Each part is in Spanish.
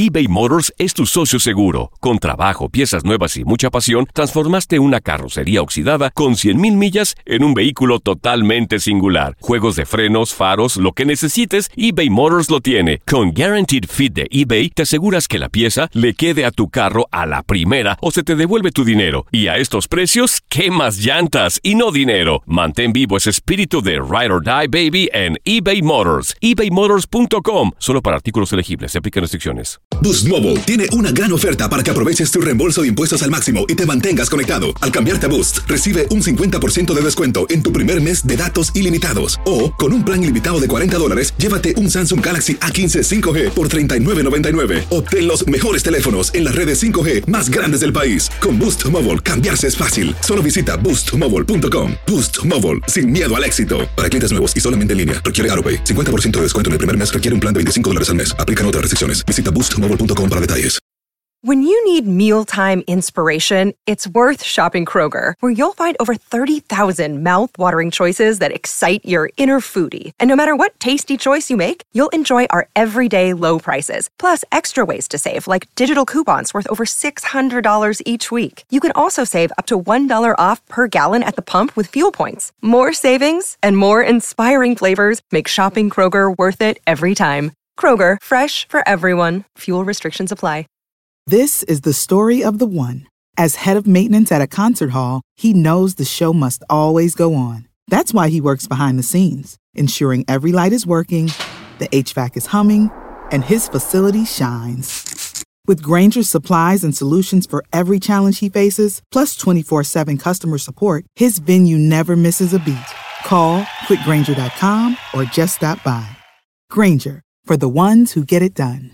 eBay Motors es tu socio seguro. Con trabajo, piezas nuevas y mucha pasión, transformaste una carrocería oxidada con 100,000 millas en un vehículo totalmente singular. Juegos de frenos, faros, lo que necesites, eBay Motors lo tiene. Con Guaranteed Fit de eBay, te aseguras que la pieza le quede a tu carro a la primera o se te devuelve tu dinero. Y a estos precios, ¿qué más llantas y no dinero? Mantén vivo ese espíritu de Ride or Die, baby, en eBay Motors. ebaymotors.com. Solo para artículos elegibles. Se aplican restricciones. Boost Mobile tiene una gran oferta para que aproveches tu reembolso de impuestos al máximo y te mantengas conectado. Al cambiarte a Boost, recibe un 50% de descuento en tu primer mes de datos ilimitados. O, con un plan ilimitado de $40, llévate un Samsung Galaxy A15 5G por $39.99. Obtén los mejores teléfonos en las redes 5G más grandes del país. Con Boost Mobile, cambiarse es fácil. Solo visita boostmobile.com. Boost Mobile, sin miedo al éxito. Para clientes nuevos y solamente en línea, requiere AutoPay. 50% de descuento en el primer mes requiere un plan de $25 al mes. Aplican otras restricciones. Visita boostmobile.com para detalles. When you need mealtime inspiration, it's worth shopping Kroger, where you'll find over 30,000 mouth-watering choices that excite your inner foodie. And no matter what tasty choice you make, you'll enjoy our everyday low prices, plus extra ways to save, like digital coupons worth over $600 each week. You can also save up to $1 off per gallon at the pump with fuel points. More savings and more inspiring flavors make shopping Kroger worth it every time. Kroger, fresh for everyone. Fuel restrictions apply. This is the story of the one. As head of maintenance at a concert hall, he knows the show must always go on. That's why he works behind the scenes, ensuring every light is working, the HVAC is humming, and his facility shines. With Grainger's supplies and solutions for every challenge he faces, plus 24/7 customer support, his venue never misses a beat. Call quickgrainger.com or just stop by. Grainger, for the ones who get it done.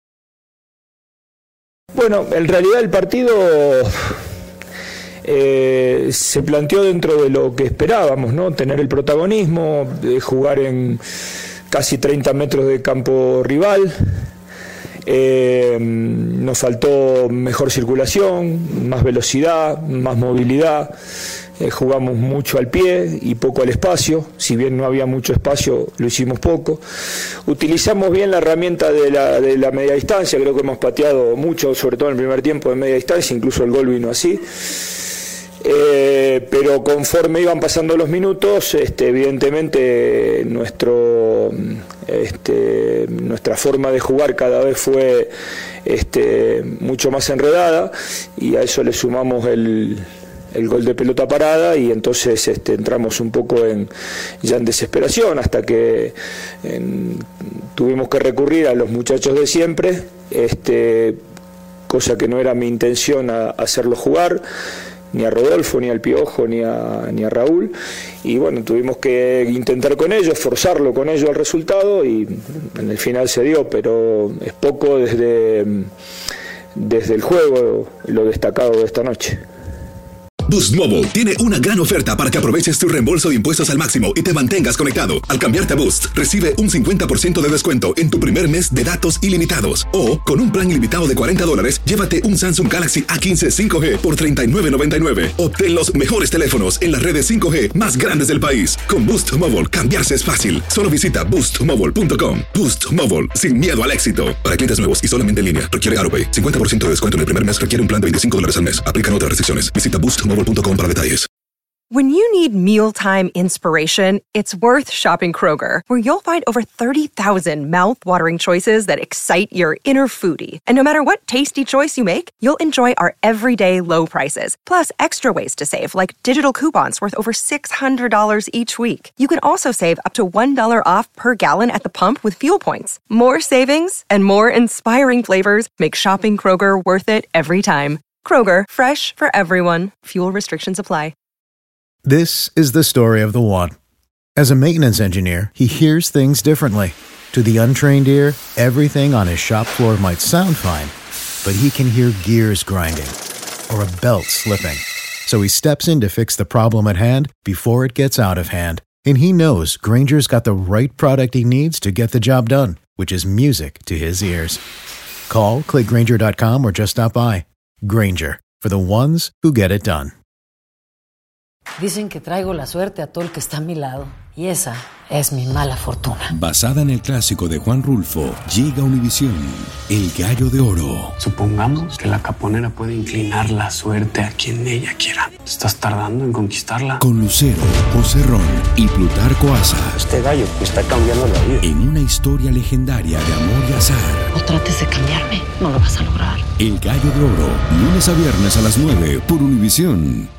Bueno, en realidad el partido se planteó dentro de lo que esperábamos, ¿no? Tener el protagonismo, jugar en casi 30 metros de campo rival. Nos faltó mejor circulación, más velocidad, más movilidad. Jugamos mucho al pie y poco al espacio. Si bien no había mucho espacio, lo hicimos poco. Utilizamos bien la herramienta de la media distancia. Creo que hemos pateado mucho, sobre todo en el primer tiempo de media distancia, incluso el gol vino así. Pero conforme iban pasando los minutos, evidentemente nuestra forma de jugar cada vez fue mucho más enredada, y a eso le sumamos el gol de pelota parada, y entonces entramos un poco ya en desesperación, hasta que tuvimos que recurrir a los muchachos de siempre, cosa que no era mi intención hacerlo jugar, ni a Rodolfo, ni al Piojo, ni a Raúl, y bueno, tuvimos que intentar con ellos, forzarlo con ellos al resultado, y en el final se dio, pero es poco desde el juego lo destacado de esta noche. Boost Mobile tiene una gran oferta para que aproveches tu reembolso de impuestos al máximo y te mantengas conectado. Al cambiarte a Boost, recibe un 50% de descuento en tu primer mes de datos ilimitados. O, con un plan ilimitado de $40, llévate un Samsung Galaxy A15 5G por $39.99. Obtén los mejores teléfonos en las redes 5G más grandes del país. Con Boost Mobile, cambiarse es fácil. Solo visita boostmobile.com. Boost Mobile, sin miedo al éxito. Para clientes nuevos y solamente en línea, requiere AutoPay. 50% de descuento en el primer mes requiere un plan de $25 al mes. Aplican otras restricciones. Visita boostmobile.com para detalles. When you need mealtime inspiration, it's worth shopping Kroger, where you'll find over 30,000 mouth-watering choices that excite your inner foodie. And no matter what tasty choice you make, you'll enjoy our everyday low prices, plus extra ways to save, like digital coupons worth over $600 each week. You can also save up to $1 off per gallon at the pump with fuel points. More savings and more inspiring flavors make shopping Kroger worth it every time. Kroger, fresh for everyone. Fuel restrictions apply. This is the story of the one. As a maintenance engineer, he hears things differently. To the untrained ear, everything on his shop floor might sound fine, but he can hear gears grinding or a belt slipping. So he steps in to fix the problem at hand before it gets out of hand. And he knows Grainger's got the right product he needs to get the job done, which is music to his ears. Call, click Grainger.com, or just stop by. Grainger, for the ones who get it done. Dicen que traigo la suerte a todo el que está a mi lado. Y esa es mi mala fortuna. Basada en el clásico de Juan Rulfo, llega a Univisión, El Gallo de Oro. Supongamos que la caponera puede inclinar la suerte a quien ella quiera. ¿Estás tardando en conquistarla? Con Lucero, José Ron y Plutarco Asa. Este gallo me está cambiando la vida. En una historia legendaria de amor y azar. No trates de cambiarme, no lo vas a lograr. El Gallo de Oro, lunes a viernes a las 9 por Univisión.